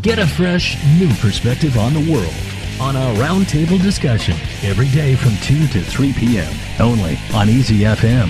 Get a fresh, new perspective on the world on our Roundtable discussion every day from 2 to 3 p.m. only on Easy FM.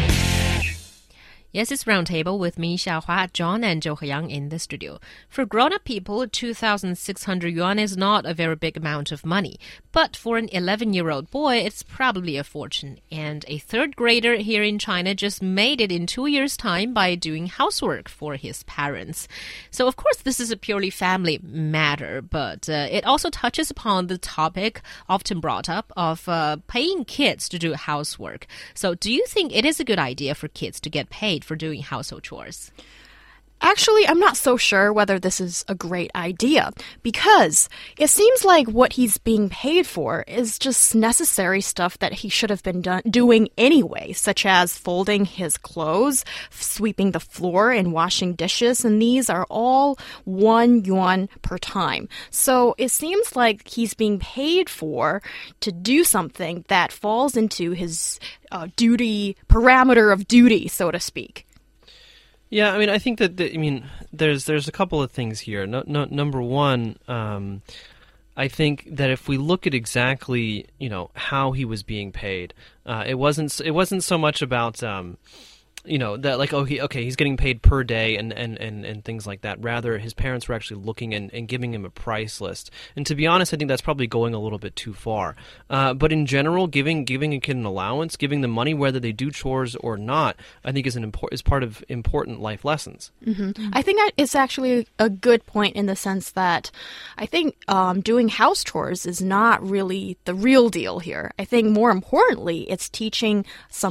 Yes, it's Roundtable with me, Xiaohua, John, and Zhou Heyang in the studio. For grown-up people, 2,600 yuan is not a very big amount of money. But for an 11-year-old boy, it's probably a fortune. And a third grader here in China just made it in 2 years' time by doing housework for his parents. So, of course, this is a purely family matter, but it also touches upon the topic often brought up of paying kids to do housework. So, do you think it is a good idea for kids to get paid for doing household chores? Actually, I'm not so sure whether this is a great idea, because it seems like what he's being paid for is just necessary stuff that he should have been doing anyway, such as folding his clothes, sweeping the floor, and washing dishes, and these are all 1 yuan per time. So it seems like he's being paid for to do something that falls into his parameter of duty, so to speak. Yeah, I mean, I think that there's a couple of things here. Number one, I think that if we look at exactly how he was being paid, it wasn't so much about that like he's getting paid per day and things like that. Rather, his parents were actually looking and giving him a price list. And to be honest, I think that's probably going a little bit too far. But in general, giving a kid an allowance, giving them money whether they do chores or not, I think is part of important life lessons. Mm-hmm. I think that it's actually a good point in the sense that I think doing house chores is not really the real deal here. I think more importantly, it's teaching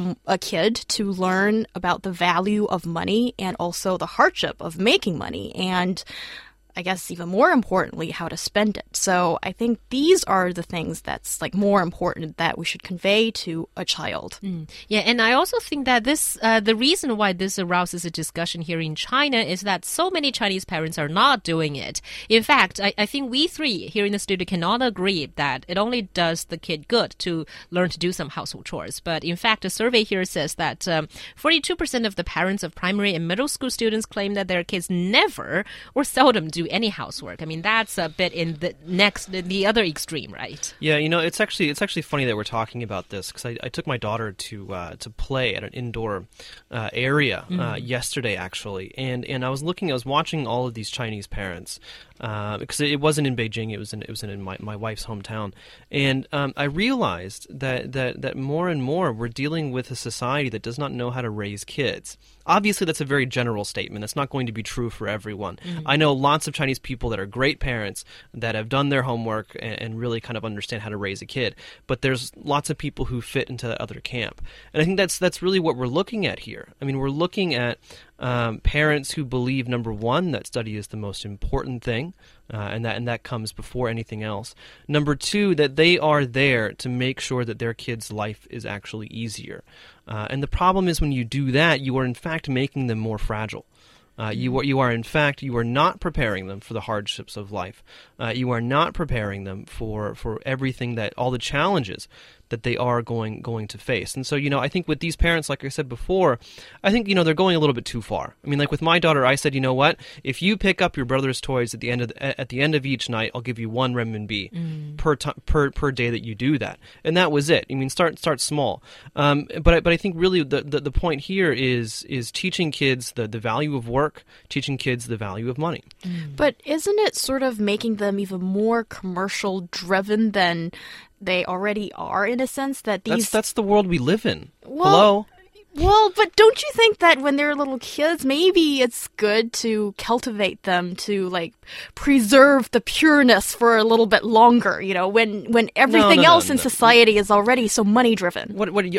a kid to learn about the value of money and also the hardship of making money, and I guess even more importantly, how to spend it. So I think these are the things that's like more important that we should convey to a child. Yeah, and I also think that this the reason why this arouses a discussion here in China is that so many Chinese parents are not doing it. In fact, I think we three here in the studio can all agree that it only does the kid good to learn to do some household chores. But in fact, a survey here says that 42% of the parents of primary and middle school students claim that their kids never or seldom do any housework. I mean, that's a bit in the other extreme, right? Yeah, it's actually funny that we're talking about this because I took my daughter to play at an indoor area yesterday, actually, and I was watching all of these Chinese parents because it wasn't in Beijing, it was in my wife's hometown, and I realized that more and more we're dealing with a society that does not know how to raise kids. Obviously, that's a very general statement. That's not going to be true for everyone. I know lots of Chinese people that are great parents that have done their homework and really kind of understand how to raise a kid. But there's lots of people who fit into that other camp. And I think that's really what we're looking at here. I mean, we're looking at parents who believe, number one, that study is the most important thing, and that comes before anything else. Number two, that they are there to make sure that their kid's life is actually easier. And the problem is when you do that, you are in fact making them more fragile. You are not preparing them for the hardships of life. You are not preparing them for everything all the challenges that they are going to face. And so, I think with these parents, like I said before, I think, they're going a little bit too far. I mean, like with my daughter, I said, you know what? If you pick up your brother's toys at the end of each night, I'll give you 1 renminbi per day that you do that. And that was it. I mean, start small. But I think really the point here is teaching kids the value of work, teaching kids the value of money. But isn't it sort of making them even more commercial driven than they already are, in a sense that these... That's the world we live in. Hello? Well, but don't you think that when they're little kids, maybe it's good to cultivate them to, like, preserve the pureness for a little bit longer, when everything else in society is already so money-driven?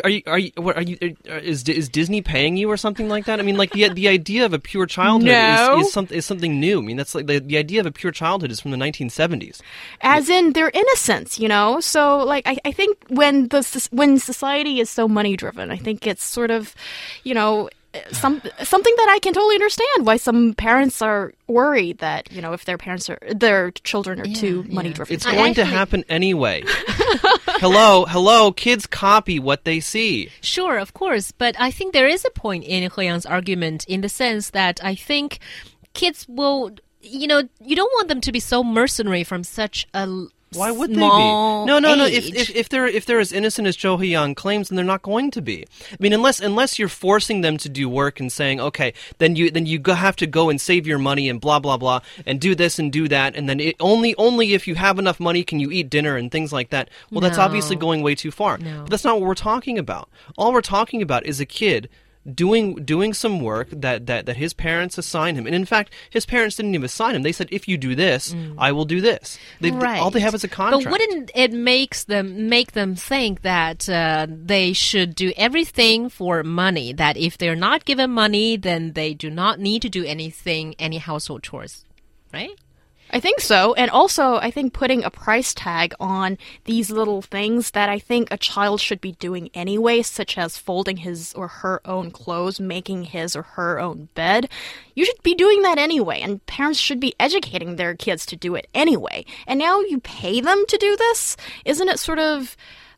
Is Disney paying you or something like that? I mean, like, the idea of a pure childhood is something new. I mean, that's like the idea of a pure childhood is from the 1970s. As in their innocence, So, like, I think when society is so money-driven, I think it's sort of something that I can totally understand why some parents are worried that if their children are too money driven. It's going to happen anyway. Hello, kids copy what they see. Sure, of course, but I think there is a point in He Yang's argument in the sense that I think kids will you don't want them to be so mercenary from such a Why would they be? small No. age. If they're as innocent as Cho Hee-young claims, then they're not going to be. I mean, unless you're forcing them to do work and saying, okay, then you have to go and save your money and blah blah blah and do this and do that, and then only if you have enough money can you eat dinner and things like that. Well, that's No. obviously going way too far. No. But that's not what we're talking about. All we're talking about is a kid doing some work that his parents assign him. And in fact, his parents didn't even assign him. They said, if you do this, I will do this. All they have is a contract. But wouldn't it make them think that they should do everything for money? That if they're not given money, then they do not need to do any household chores, right? I think so. And also, I think putting a price tag on these little things that I think a child should be doing anyway, such as folding his or her own clothes, making his or her own bed. You should be doing that anyway, and parents should be educating their kids to do it anyway. And now you pay them to do this? Isn't it sort of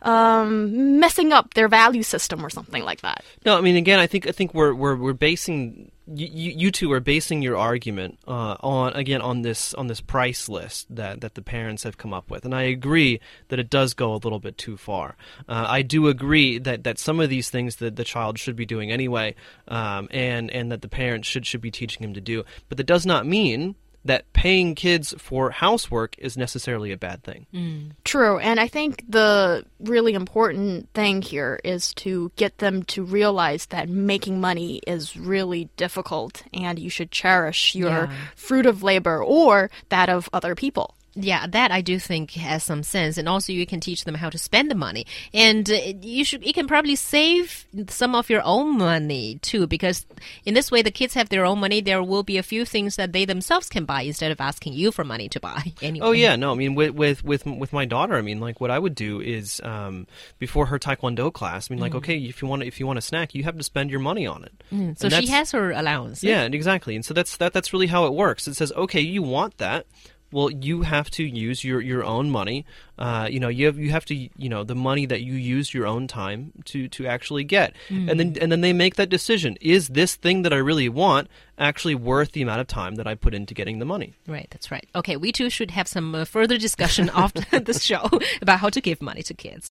messing up their value system or something like that? No, I mean, again, I think we're basing you two are basing your argument on this price list that the parents have come up with, and I agree that it does go a little bit too far. I do agree that some of these things that the child should be doing anyway, and that the parents should be teaching him to do, but that does not mean that paying kids for housework is necessarily a bad thing. True, and I think the really important thing here is to get them to realize that making money is really difficult and you should cherish your fruit of labor or that of other people. Yeah, that I do think has some sense, and also you can teach them how to spend the money, and you can probably save some of your own money too, because in this way the kids have their own money. There will be a few things that they themselves can buy instead of asking you for money to buy. Anyway. Oh yeah, no, I mean with my daughter, I mean, like, what I would do is before her Taekwondo class, I mean, like, okay, if you want a snack, you have to spend your money on it. So she has her allowance. Yeah, exactly, and so that's really how it works. It says, okay, you want that. Well, you have to use your own money. You have to the money that you use your own time to actually get, and then they make that decision. Is this thing that I really want actually worth the amount of time that I put into getting the money? Right, that's right. Okay, we too should have some further discussion after this show about how to give money to kids.